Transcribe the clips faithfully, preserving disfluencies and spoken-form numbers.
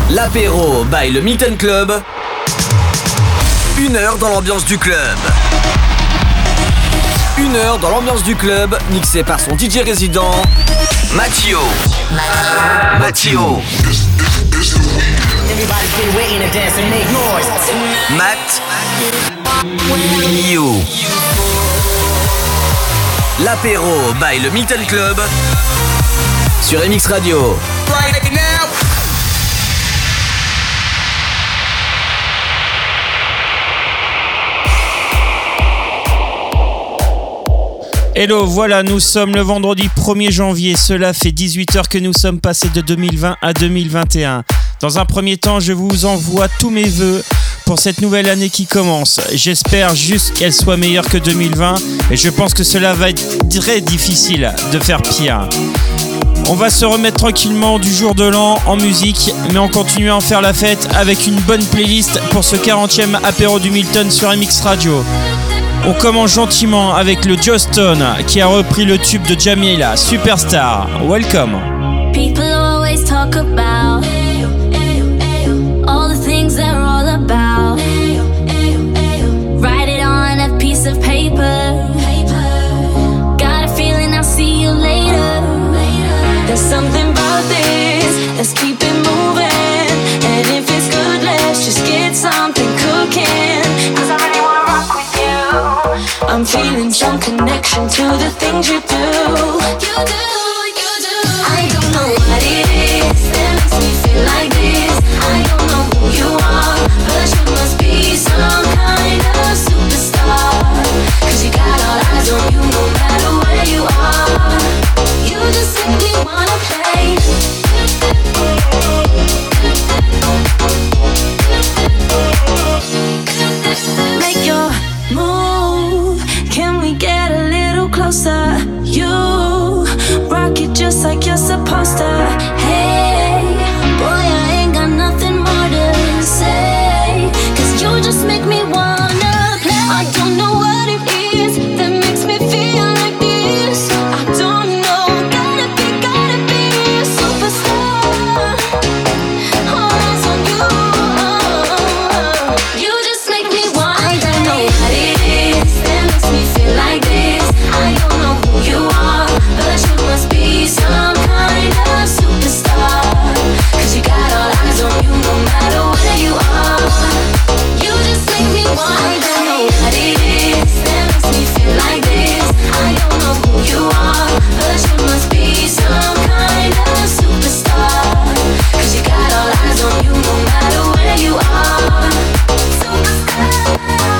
L'apéro by le Milton Club. Une heure dans l'ambiance du club. Une heure dans l'ambiance du club, mixé par son D J résident, Mattio. Mattio. Matt. You. L'apéro by le Milton Club sur M X Radio. Hello, voilà, nous sommes le vendredi premier janvier. Cela fait dix-huit heures que nous sommes passés de deux mille vingt à deux mille vingt et un. Dans un premier temps, je vous envoie tous mes vœux pour cette nouvelle année qui commence. J'espère juste qu'elle soit meilleure que deux mille vingt et je pense que cela va être très difficile de faire pire. On va se remettre tranquillement du jour de l'an en musique, mais en continuant à faire la fête avec une bonne playlist pour ce quarantième apéro du Milton sur M X Radio. On commence gentiment avec le Joe Stone qui a repris le tube de Jamila, Superstar. Welcome. People always talk about all the things they're all about. Write it on a piece of paper. Got a feeling I'll see you later. There's something about this, let's keep it moving. And if it's good, let's just get something cooking. Cause I really wanna rock with you. I'm feeling some connection to the things you do. You do, you do. I don't know what it is that makes me feel like this. I don't know who you are, but you must be some kind of superstar. Cause you got all eyes on you no matter where you are. You just make me wanna play. Make your move. Can we get a little closer? You rock it just like you're supposed to. Hey, boy, I ain't got nothing more to say. Cause you just make me wanna play. I don't know what it is that makes me feel like this. I don't know, gotta be, gotta be a superstar. All eyes on you. You just make me wanna. I don't know what it is that makes me feel like this. I don't know who you are, but you must be some kind of superstar. Cause you got all eyes on you no matter where you are. You just make me want. I don't know what it is that makes me feel like this. I don't know who you are, but you must be some kind of superstar. Cause you got all eyes on you no matter where you are. Superstar.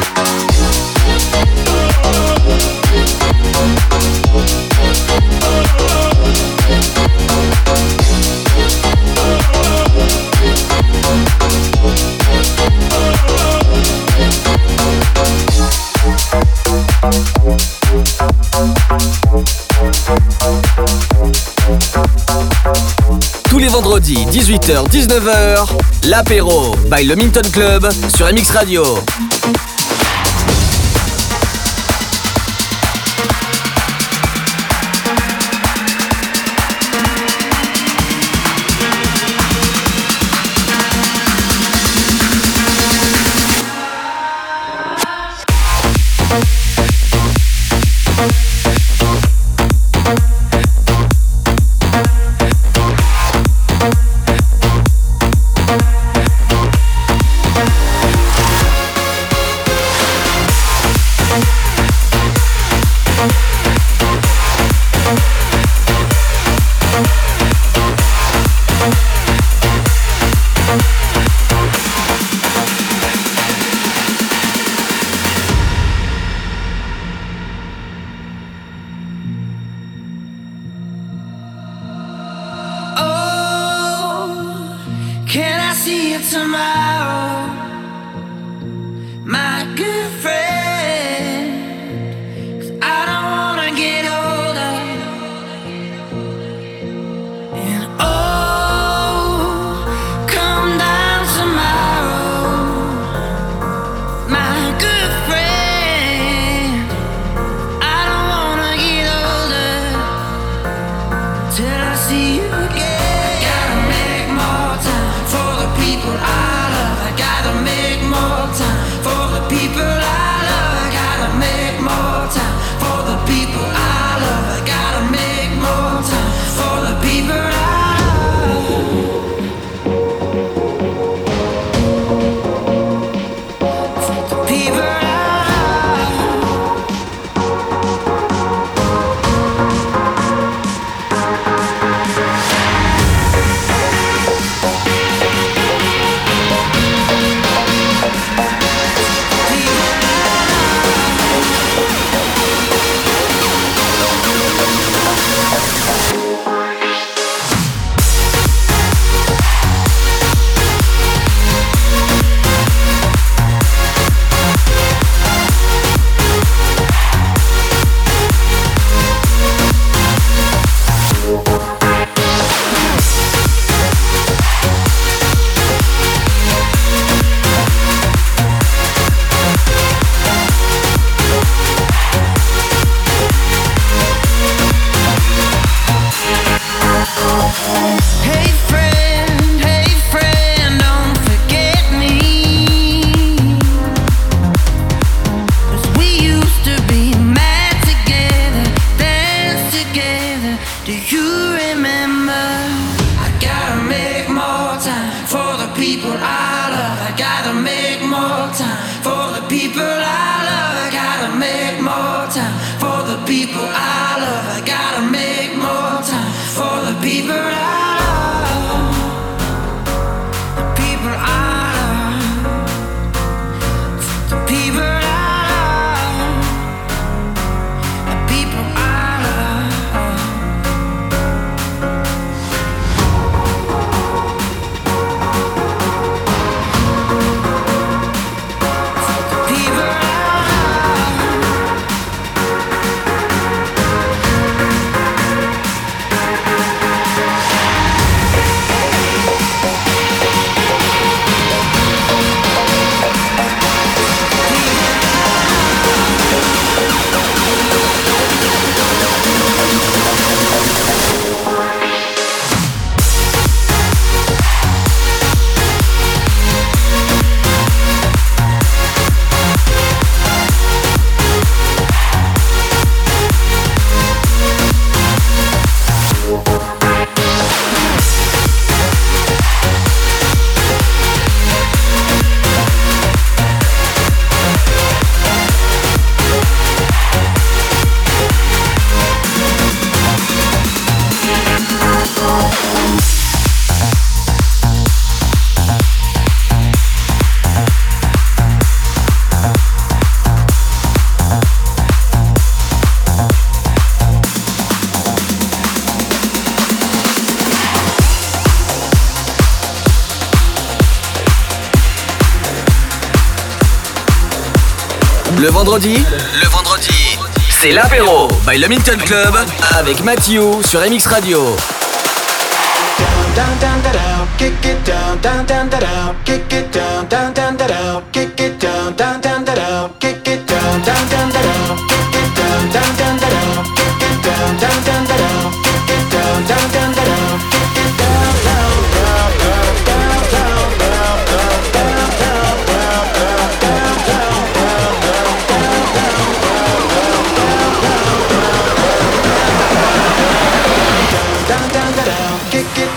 Tous les vendredis, dix-huit heures dix-neuf heures, l'apéro by le Milton Club sur M X Radio. Can I see you tomorrow, my good friend? 'Cause I don't wanna get older. And oh, come down tomorrow, my good friend. I don't wanna get older till I see you again. Gotta make more time for the people. Le vendredi, le vendredi, c'est l'apéro by le Minton Club avec Mathieu sur M X Radio. Down, down, down, down, kick it down, down, down, down, kick it down, down, down, down, kick it down, down, down, down, kick it down, down, down, down, kick it down, down, down, down, kick it down, down, down, down, kick it down, down, down, down, kick it down, down, down, down, down, down, down, down, down, down, down, down, down, down, kick it.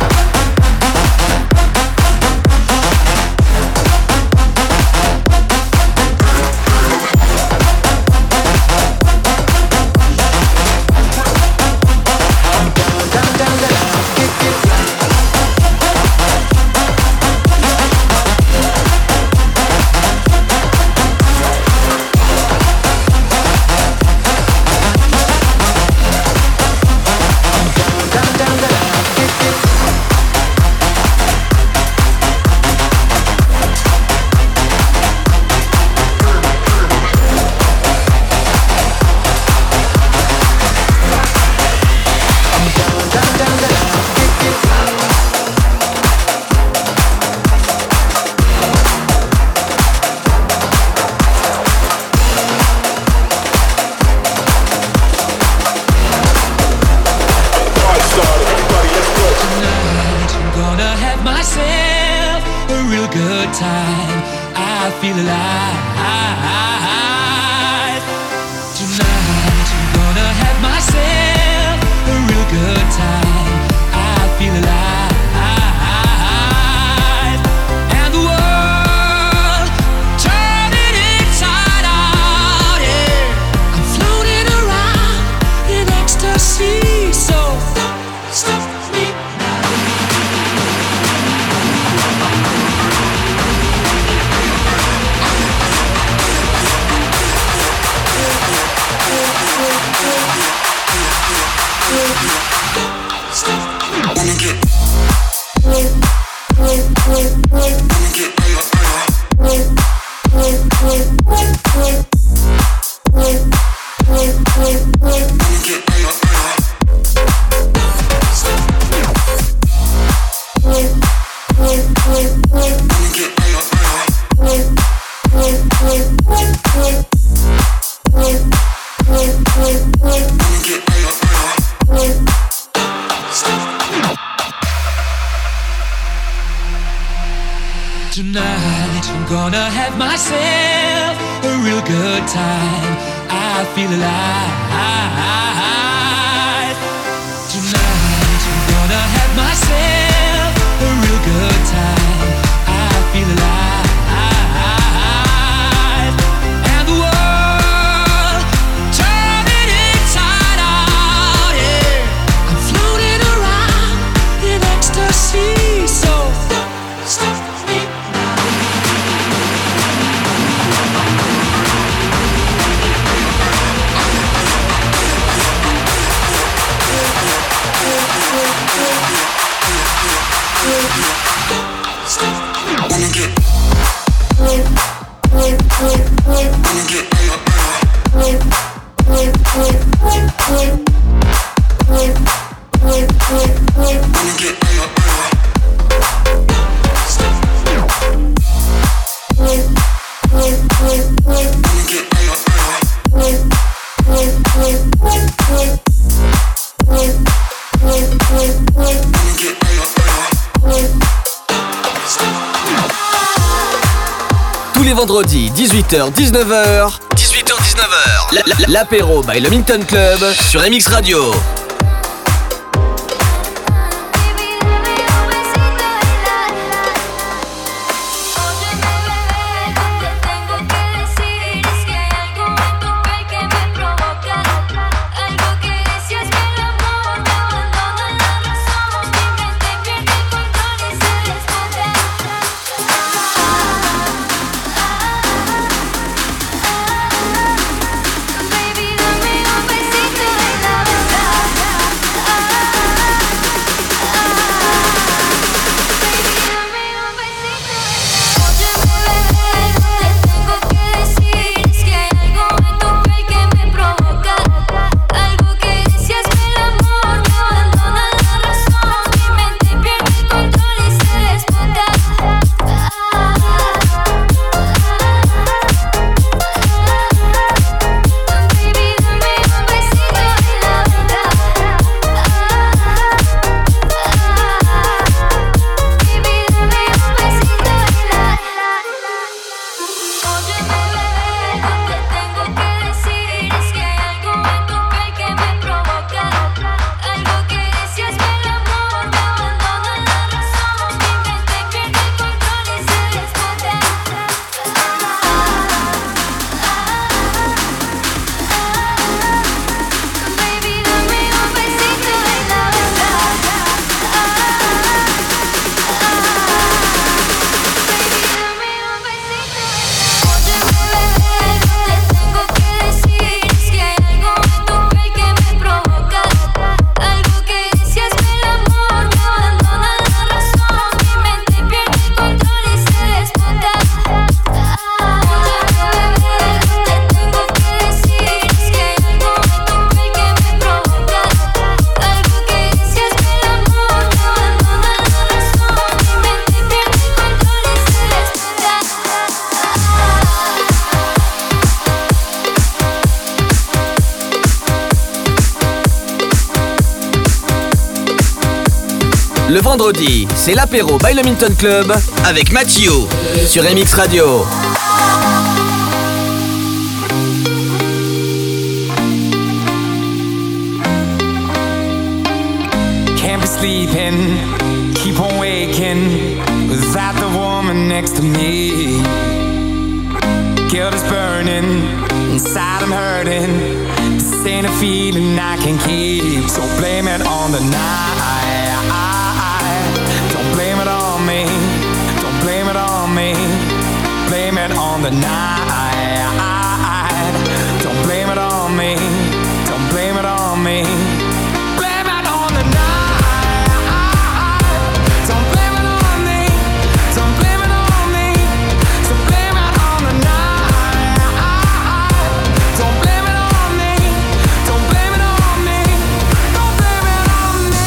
Tonight I'm gonna have myself a real good time. I feel alive. Tonight I'm gonna have myself a real good time. I feel alive. And the world turning inside out, yeah. I'm floating around in ecstasy, so stop me. Wanna get, wanna get, wanna get. Tous les vendredis, dix-huit heures dix-neuf heures. dix-huit heures dix-neuf heures. L'apéro by le Minton Club sur M X Radio. Baby, dame un besito en la boca. Le vendredi, c'est l'apéro by le Minton Club avec Mathieu sur M X Radio. Can't be sleeping, keep on waking without the woman next to me. Guilt is burning, inside I'm hurting. This ain't a feeling I can keep, so blame it on the night. Don't blame it on me, don't blame it on me. Blame it on the night. Don't blame it on me, don't blame it on me. Blame it on the night. Don't blame it on me, don't blame it on me. So blame it on the night. Don't blame it on me, don't blame it on me. Don't blame it on me.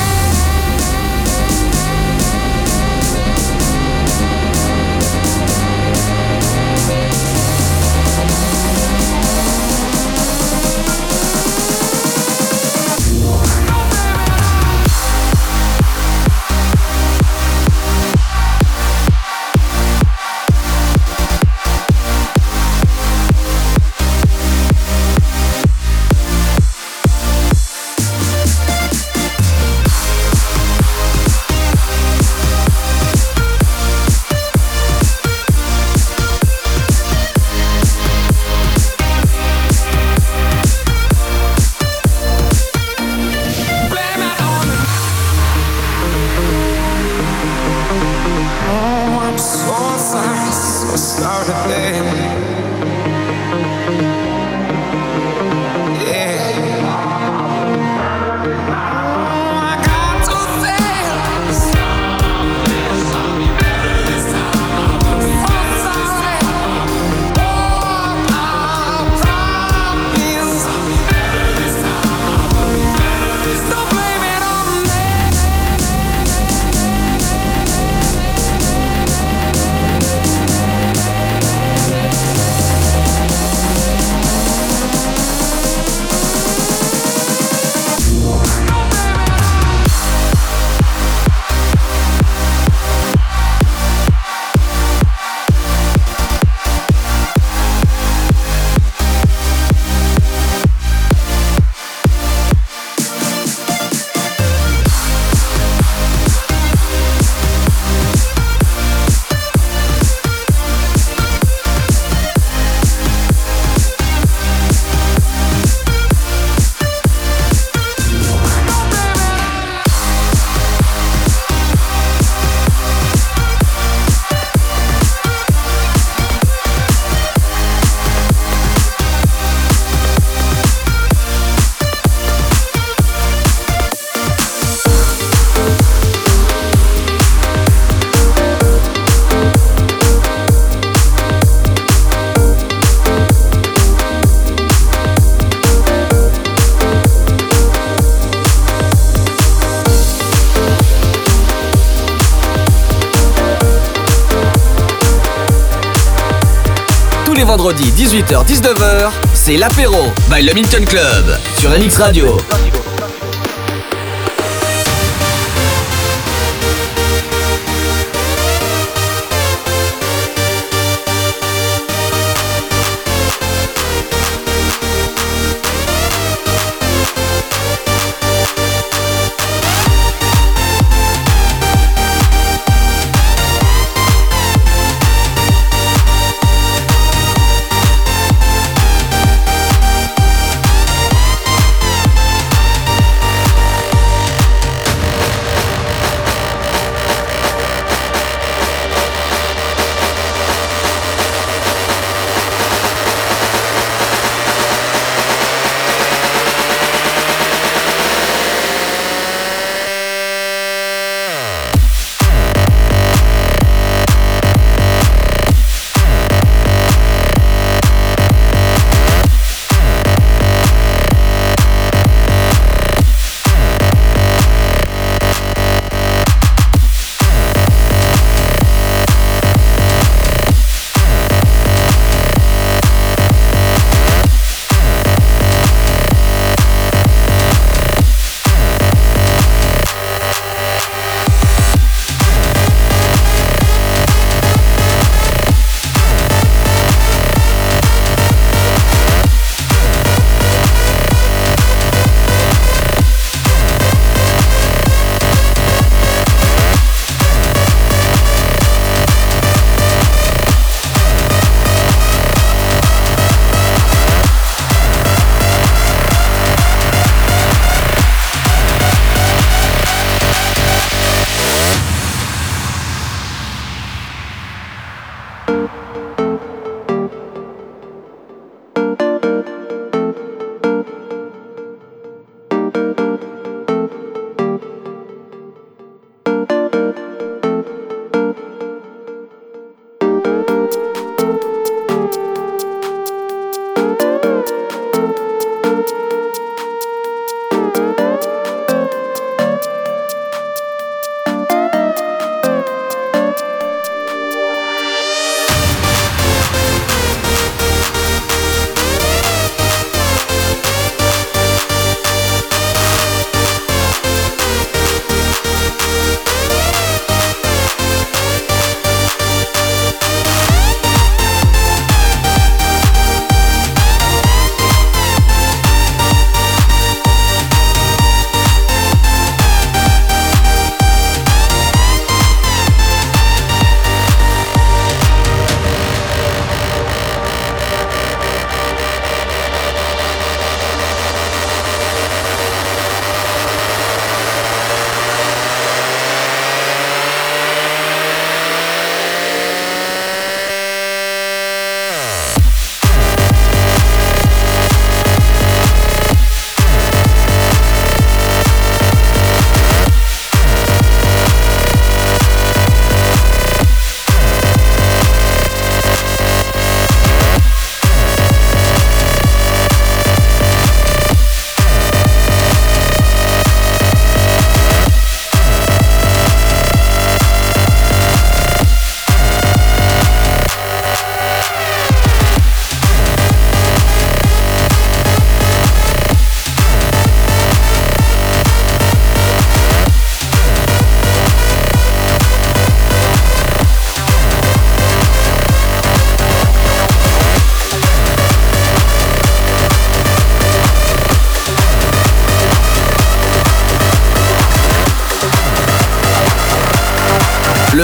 Les vendredis dix-huit heures dix-neuf heures, c'est l'apéro by le Minton Club sur M X Radio.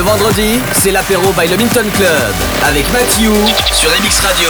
vendredi, c'est l'apéro by le Minton Club avec Mathieu sur M X Radio.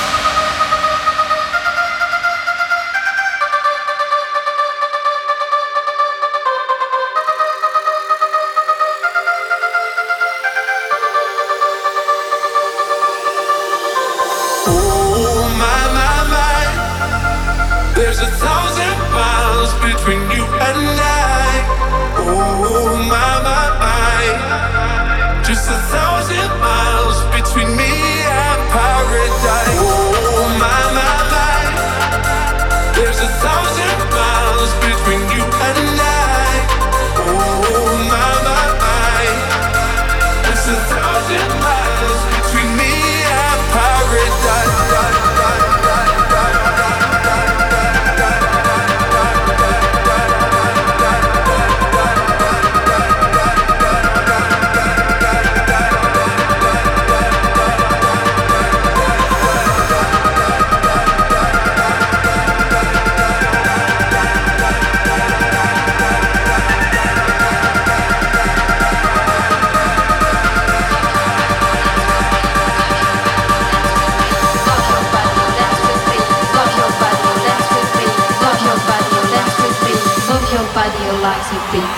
Oh my, my, my. There's a thousand miles between you and I. Oh my, my, my. Just a thousand miles between me and paradise. Oh my, my, my. There's a thousand miles between you and I. Oh my, my, my. There's a thousand miles between me and paradise. Body likes a beat.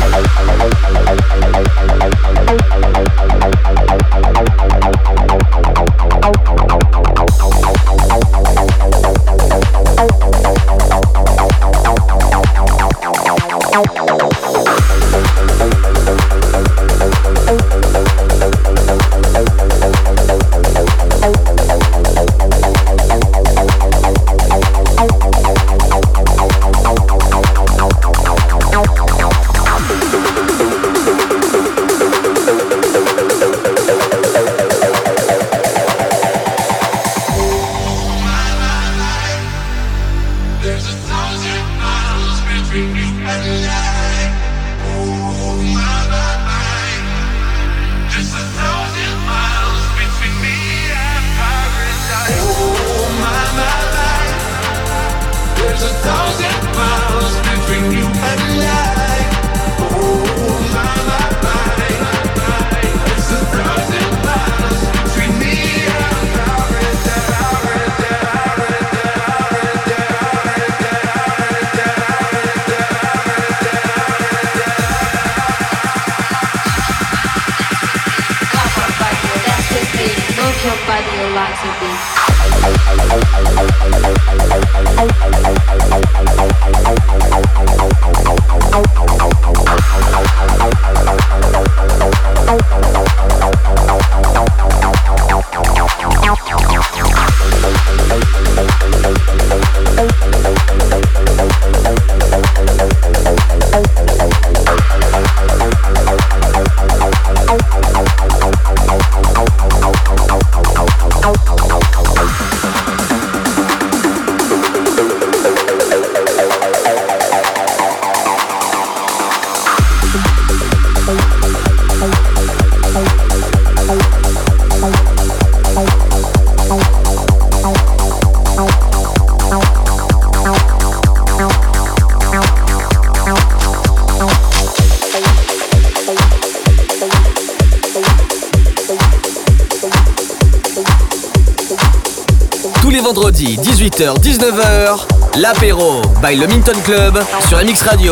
Vendredi dix-huit heures dix-neuf heures, l'apéro by le Minton Club sur M X Radio.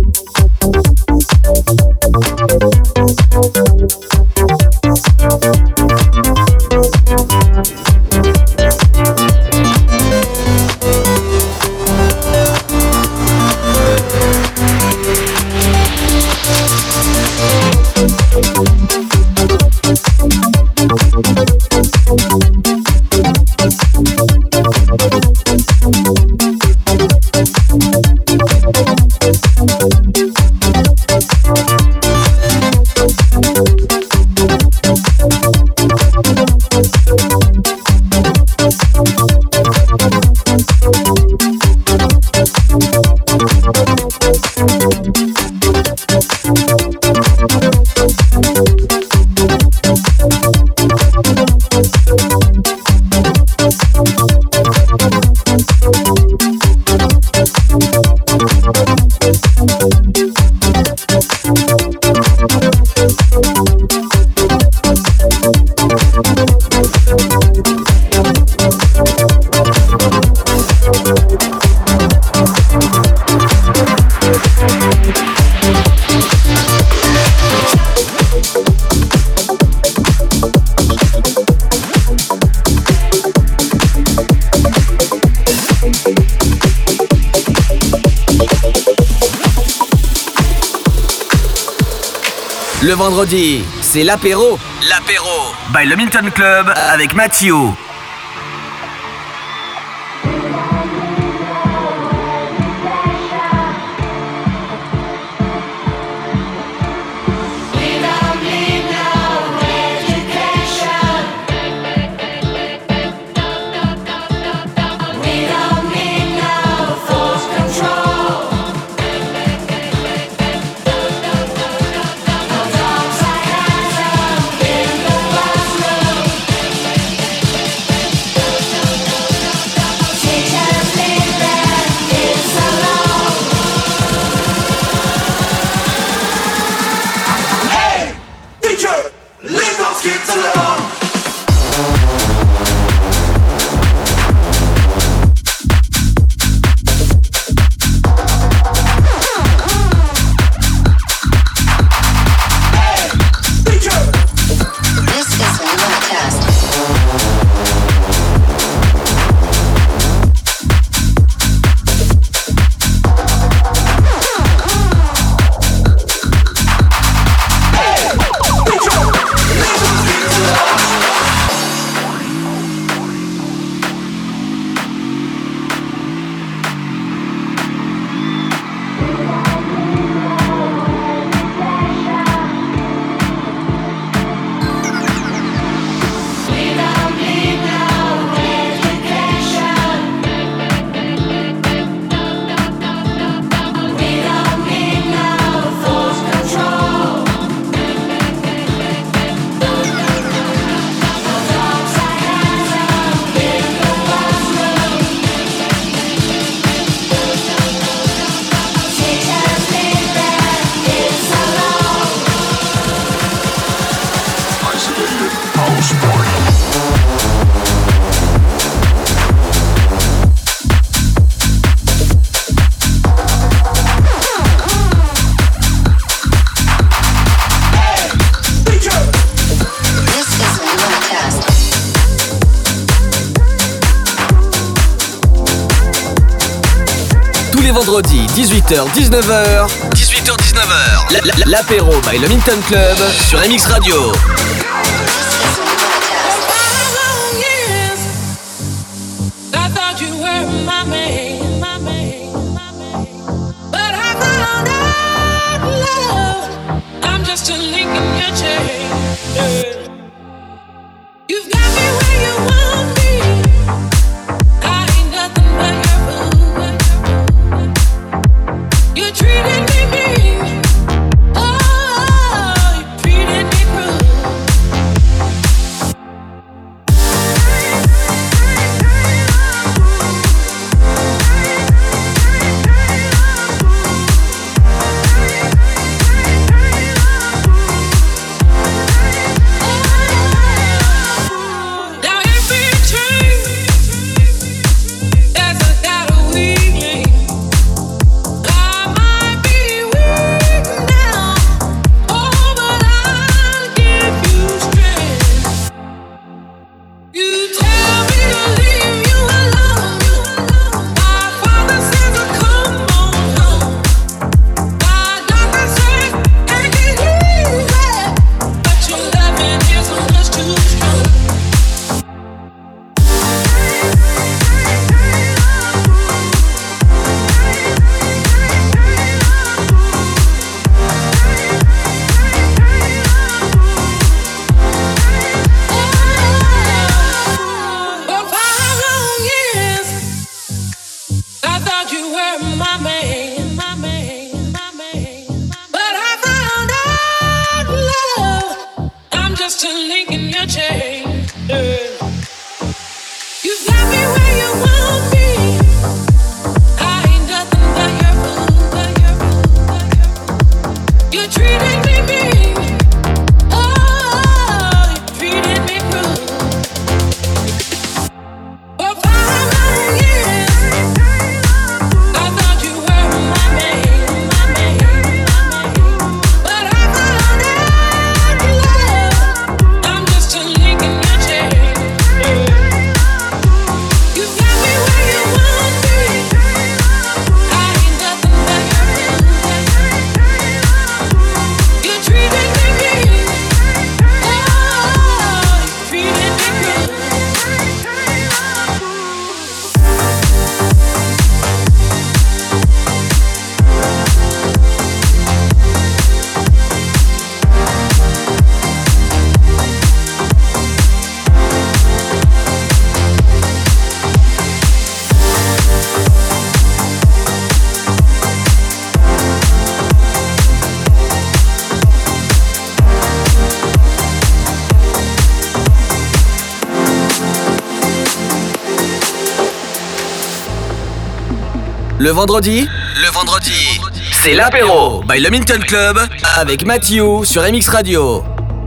We'll be right back. Le vendredi, c'est l'apéro. L'apéro by le Milton Club avec Mathieu. Vendredi, dix-huit heures dix-neuf heures. dix-huit heures dix-neuf heures. L'apéro by le Milton Club sur M X Radio. Treated me mean, oh, you treated me cruel. Le vendredi, le vendredi, c'est l'apéro by le Minton Club avec Mathieu sur M X Radio.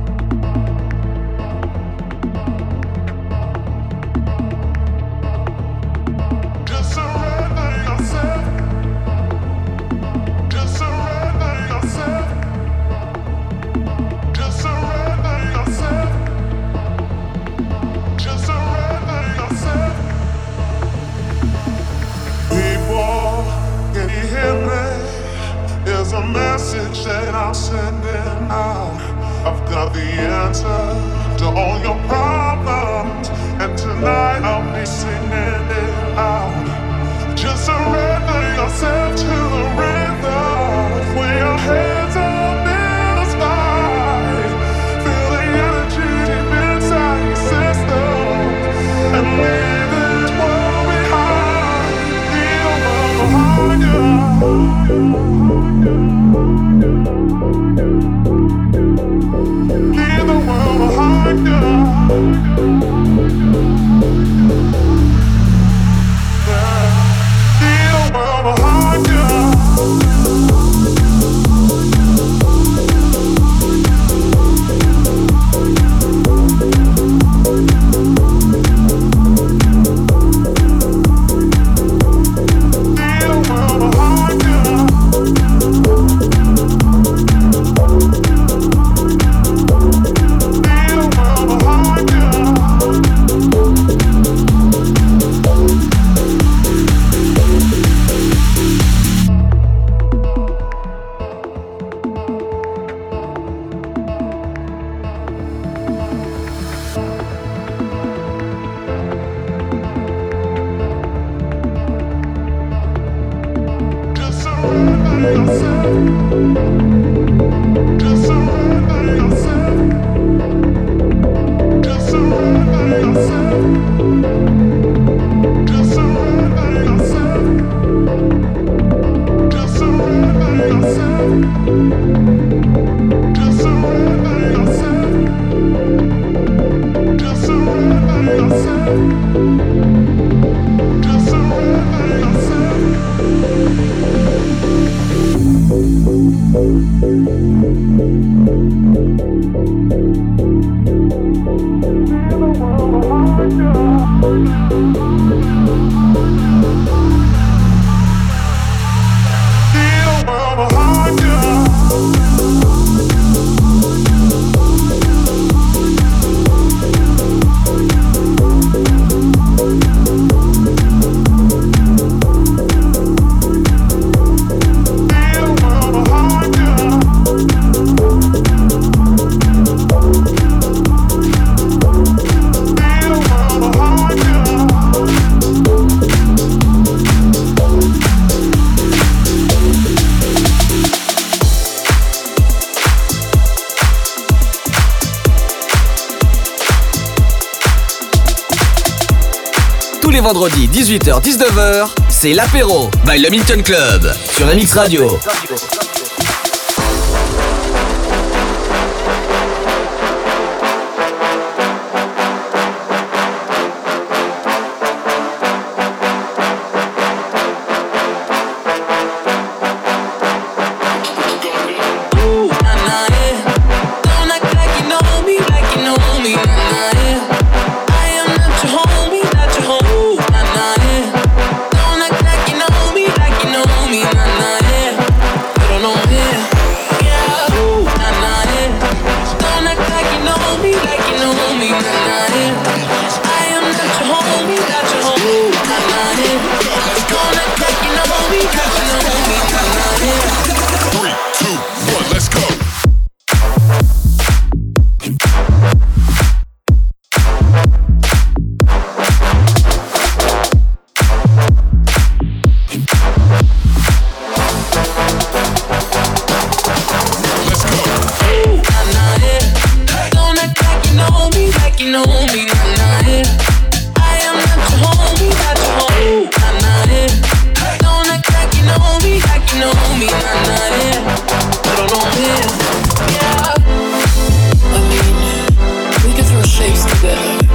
Vendredi dix-huit heures dix-neuf heures, c'est l'apéro by le Minton Club sur M X Radio.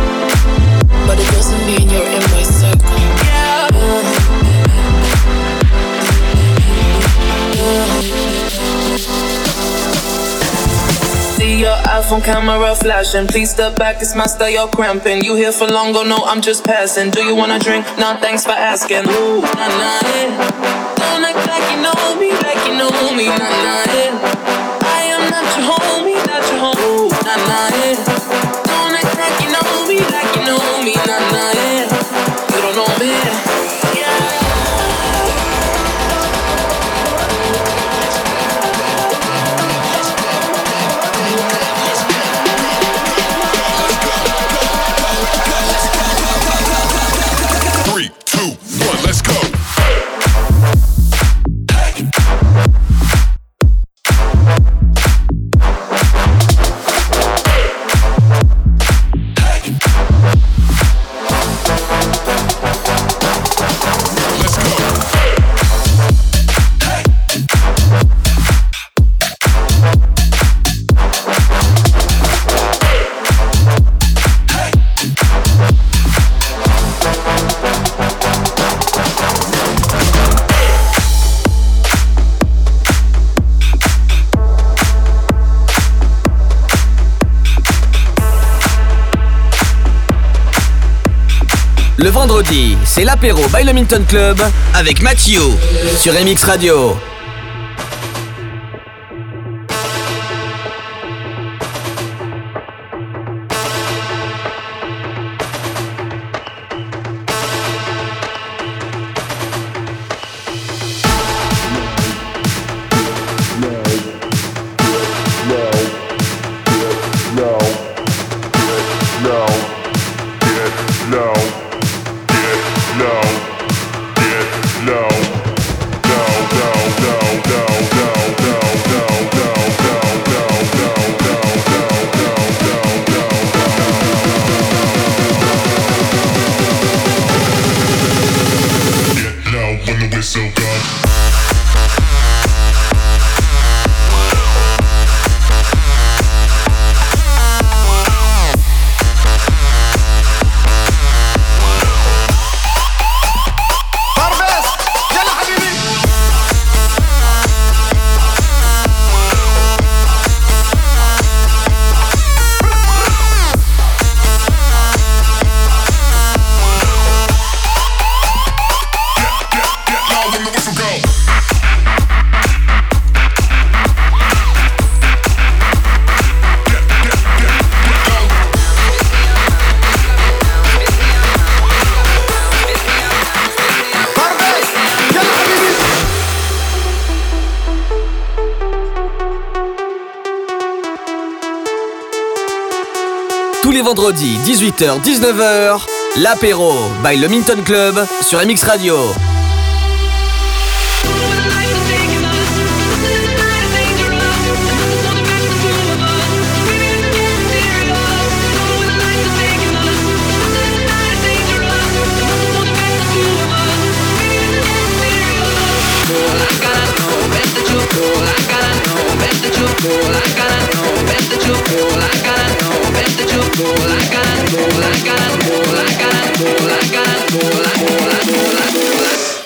But it doesn't mean you're in my circle. Yeah. phone camera flashing. Please step back, it's my style, you're cramping. You here for long, go no, I'm just passing. Do you wanna drink? Nah, thanks for asking. Ooh, nah, nah, yeah. Don't act like you know me, like you know me, nah, nah, yeah. I am not your homie, not your homie, ooh, nah, nah, yeah. Don't act like you know me, like you know me, nah, nah, yeah. You don't know me, yeah. Three, two, one, let's go. Le vendredi, c'est l'apéro by le Minton Club avec Mathieu sur M X Radio. Tous les vendredis, dix-huit heures dix-neuf heures, l'apéro by le Minton Club sur M X Radio. I got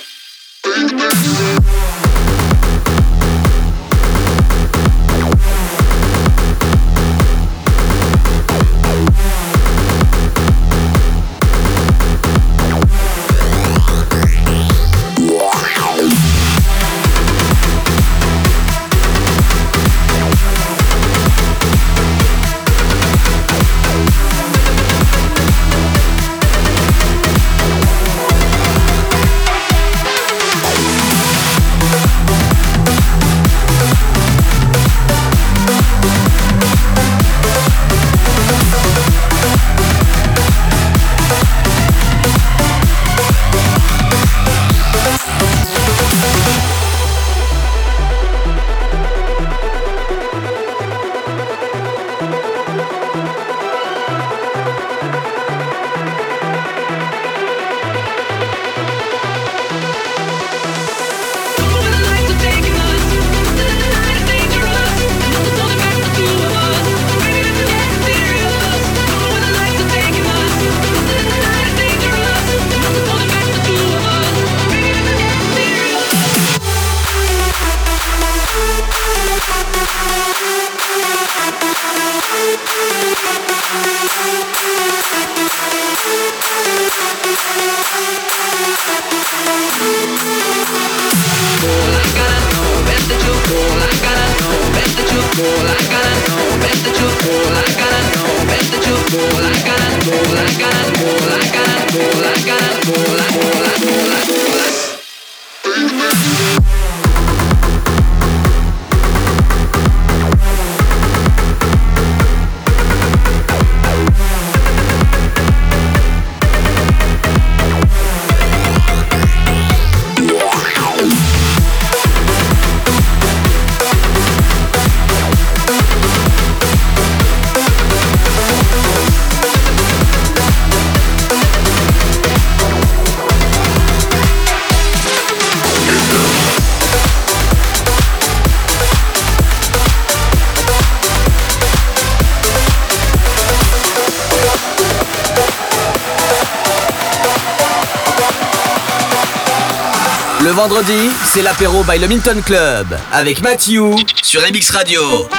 Le vendredi, c'est l'apéro by le Minton Club avec Mathieu sur M X Radio.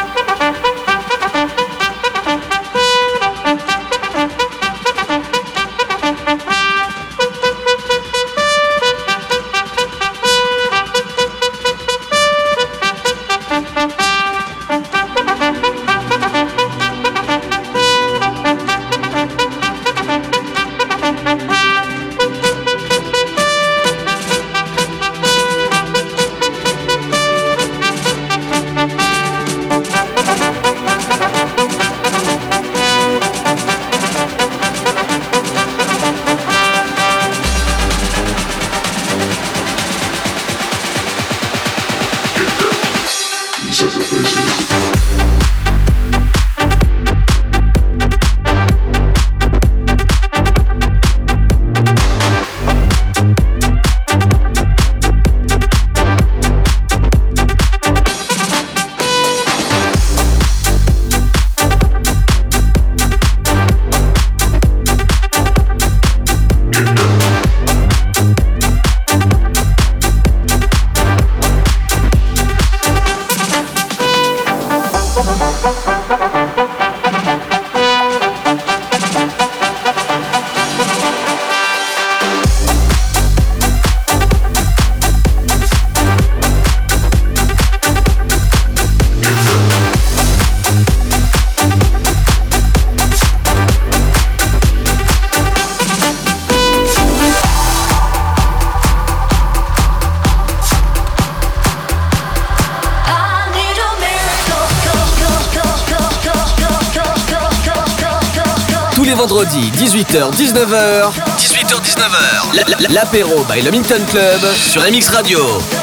Vendredi, dix-huit heures dix-neuf heures. dix-huit heures dix-neuf heures. L'apéro by le Minton Club sur M X Radio.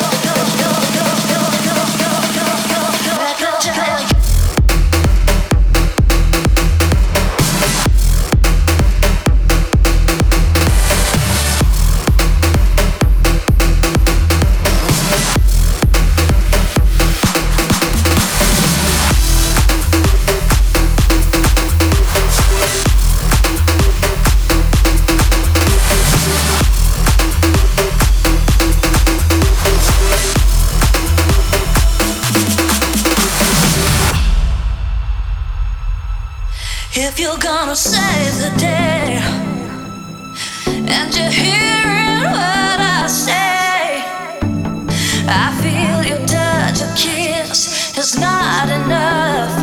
If you're gonna save the day and you're hearing what I say, I feel your touch, your kiss is not enough.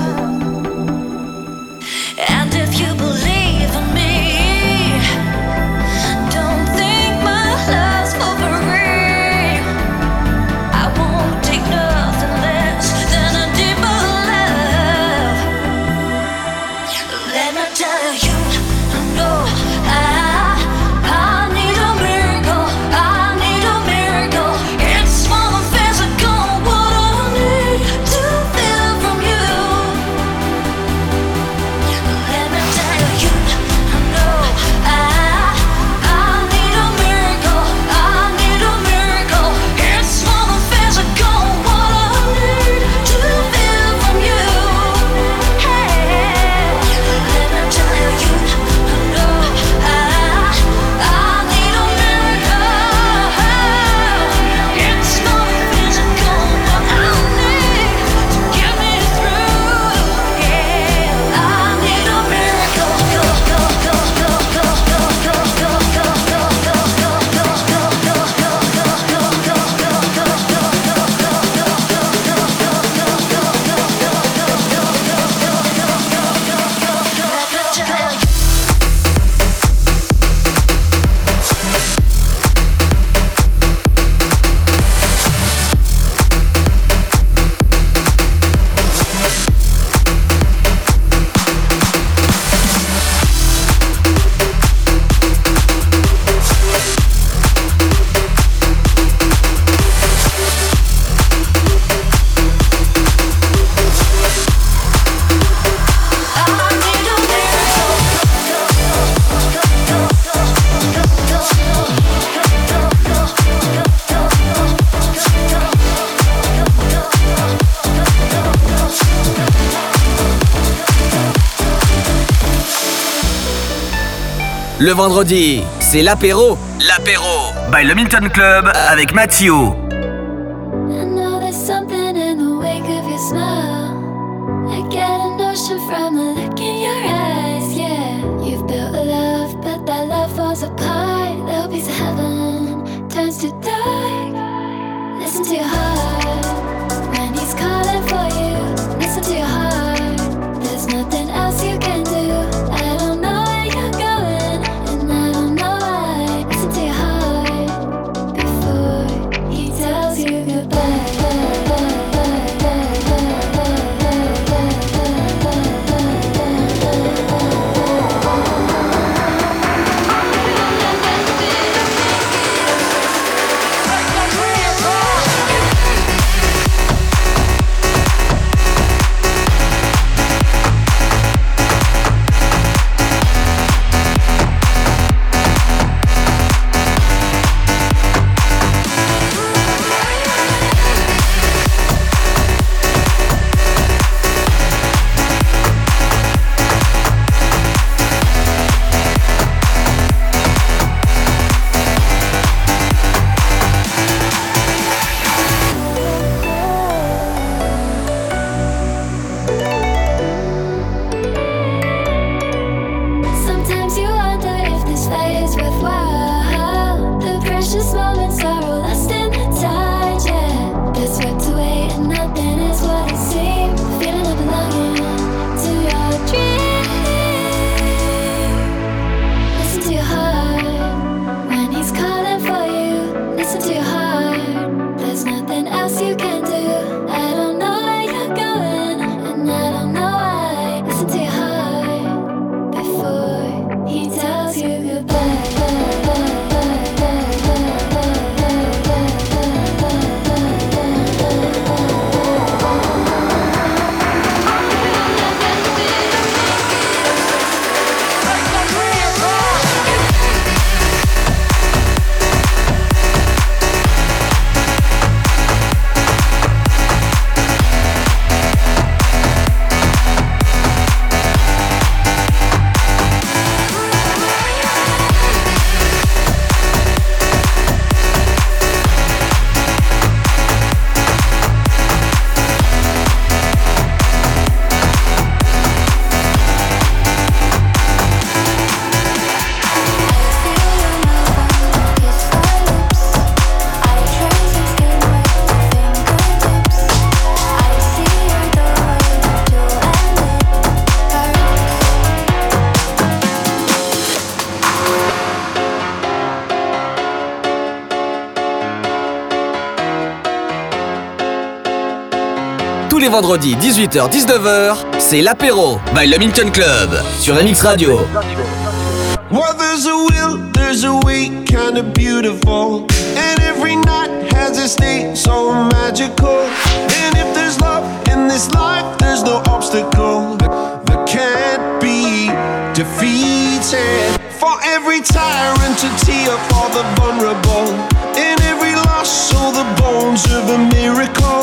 And if you believe in me, don't think my love's for free. I won't take nothing less than a deeper love. Let me tell you, I know I, I need a miracle, I need a miracle. It's more than physical, what I need to feel from you. Let me tell you, I know I, I need a miracle, I need a miracle. It's more than physical, what I need to feel from you. Hey, let me tell you, I know I, I need a miracle. It's more than physical, what I need to get me through. Yeah, I need a miracle. Go, go, go, go, go, go, go, go, go, go, go, go, go, Le vendredi, c'est l'apéro, l'apéro by le Milton Club avec Mathieu. I know there's something in the wake of your smile. I get a notion from the look in your eyes, yeah. You've built a love, but that love falls apart. Little piece of heaven turns to dark. Listen to your heart when he's calling for you. Listen to your heart, there's nothing else you can do. I don't know where you're going, and I don't know why. Listen to your heart before he tells you goodbye. Tous les vendredis dix-huit heures dix-neuf heures, c'est l'apéro by le Milton Club sur M X Radio. Well, there's a will, there's a way, kinda beautiful. And every night has its day, so magical. And if there's love in this life, there's no obstacle that, that can't be defeated. For every tyrant to tear for the vulnerable. In every loss, so the bones of a miracle.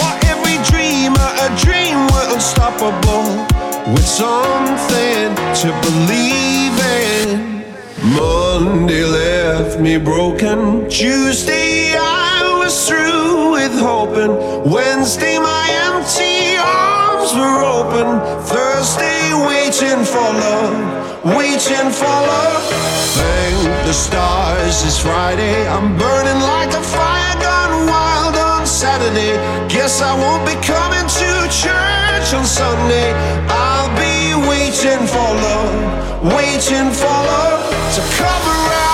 Dreamer, a dream we're unstoppable, with something to believe in. Monday left me broken. Tuesday I was through with hoping. Wednesday my empty arms were open. Thursday waiting for love, waiting for love. Thank the stars it's Friday. I'm burning like a fire gone wild on Saturday. Guess I won't be coming to church on Sunday. I'll be waiting for love, waiting for love to come around.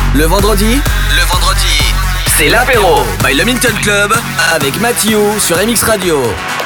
Le vendredi, le vendredi, c'est l'apéro by le Minton Club avec Mathieu sur M X Radio.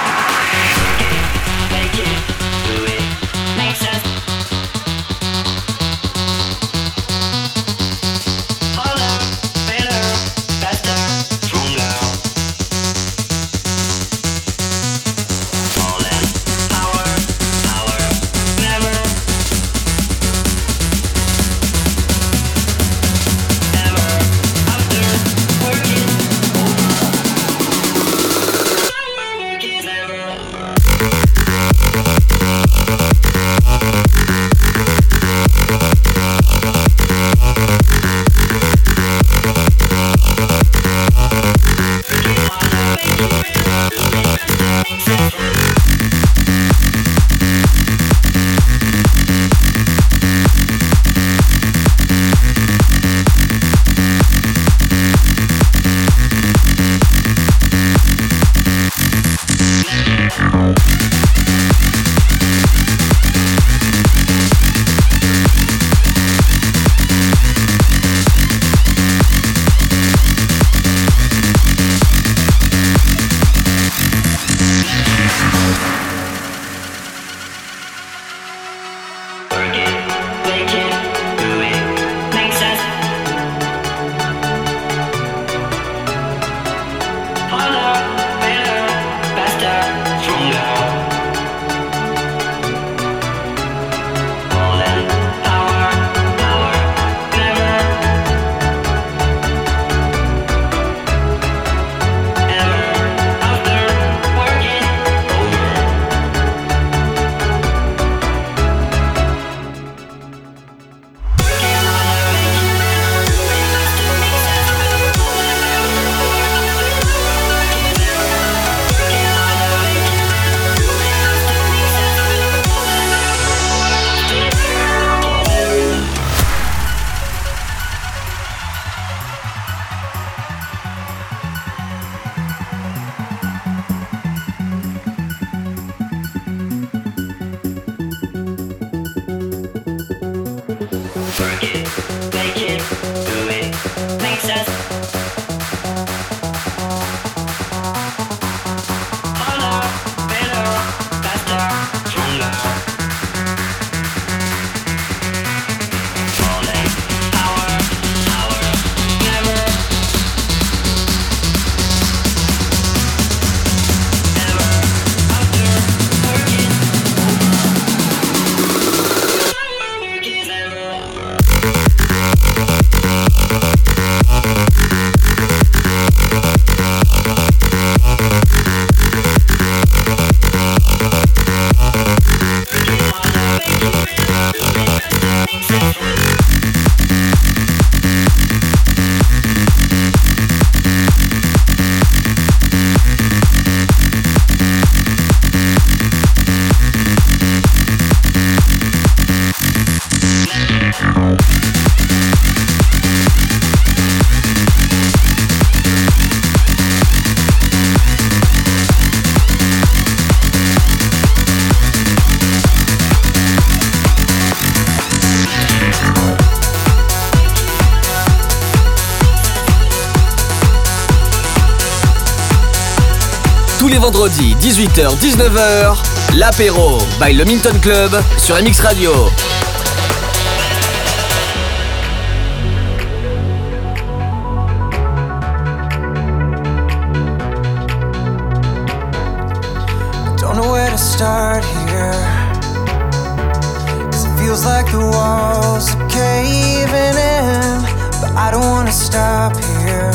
Tous les vendredis, dix-huit heures dix-neuf heures, l'apéro by le Minton Club sur M X Radio. Don't know where to start here, 'cause it feels like the walls are caving in, but I don't wanna stop here.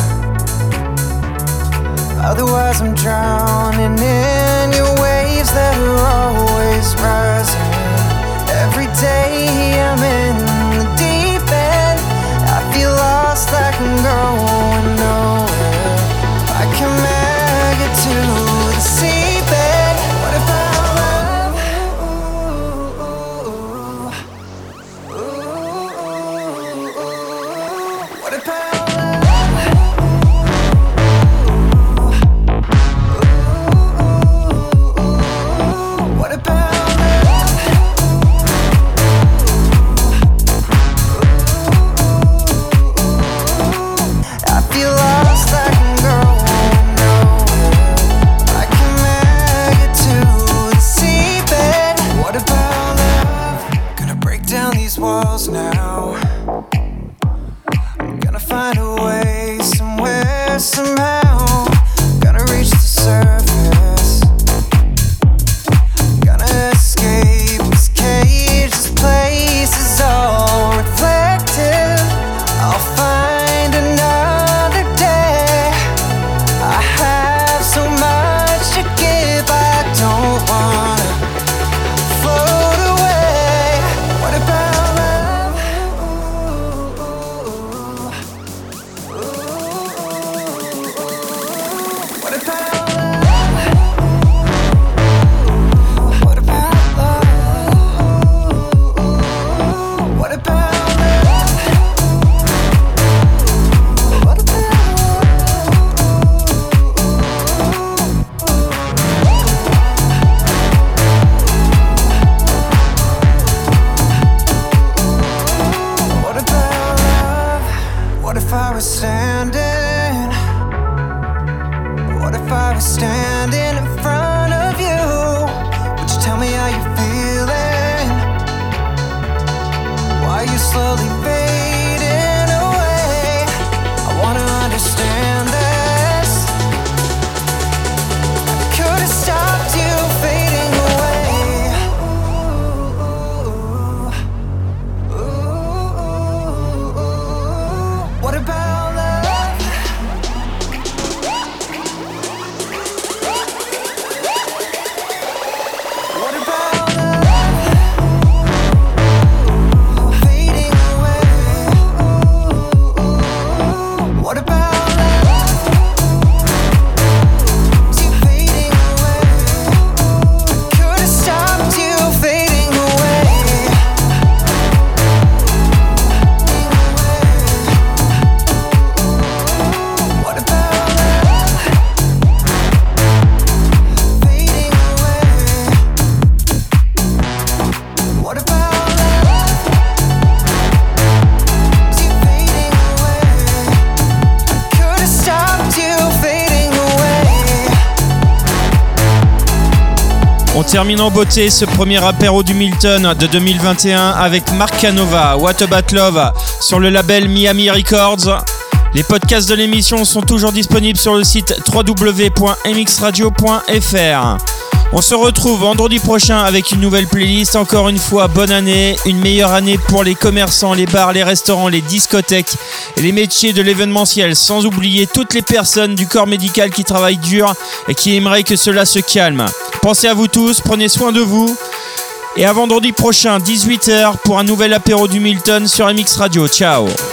Otherwise I'm drowning in your waves that are always rising. Every day I'm in the deep end, I feel lost like I'm going nowhere. I can make it to the seabed. What about love? Ooh, ooh, ooh. What about Gonna find a way, somewhere, somehow. Gonna reach the surface. Gonna escape this cage, this place is all reflective. I'll find another day. I have so much to give, I don't wanna float away. What about love? What about love? What about love? What about What if I was standing? What if I was standing in front of you? Would you tell me how you're feeling? Why are you slowly fading away? I wanna understand this. I could have stopped you fading away. What about love? What about love? Fading away. What about love? You fading away. Could have stopped you fading away. What about love? Fading away. What about love? You fading away. Could have stopped you fading away. On termine en beauté ce premier apéro du Milton de deux mille vingt et un avec Mark Canova, What About Love sur le label Miami Records. Les podcasts de l'émission sont toujours disponibles sur le site w w w point m x radio point f r. On se retrouve vendredi prochain avec une nouvelle playlist. Encore une fois, bonne année, une meilleure année pour les commerçants, les bars, les restaurants, les discothèques et les métiers de l'événementiel, sans oublier toutes les personnes du corps médical qui travaillent dur et qui aimeraient que cela se calme. Pensez à vous tous, prenez soin de vous et à vendredi prochain, dix-huit heures, pour un nouvel apéro du Milton sur M X Radio. Ciao.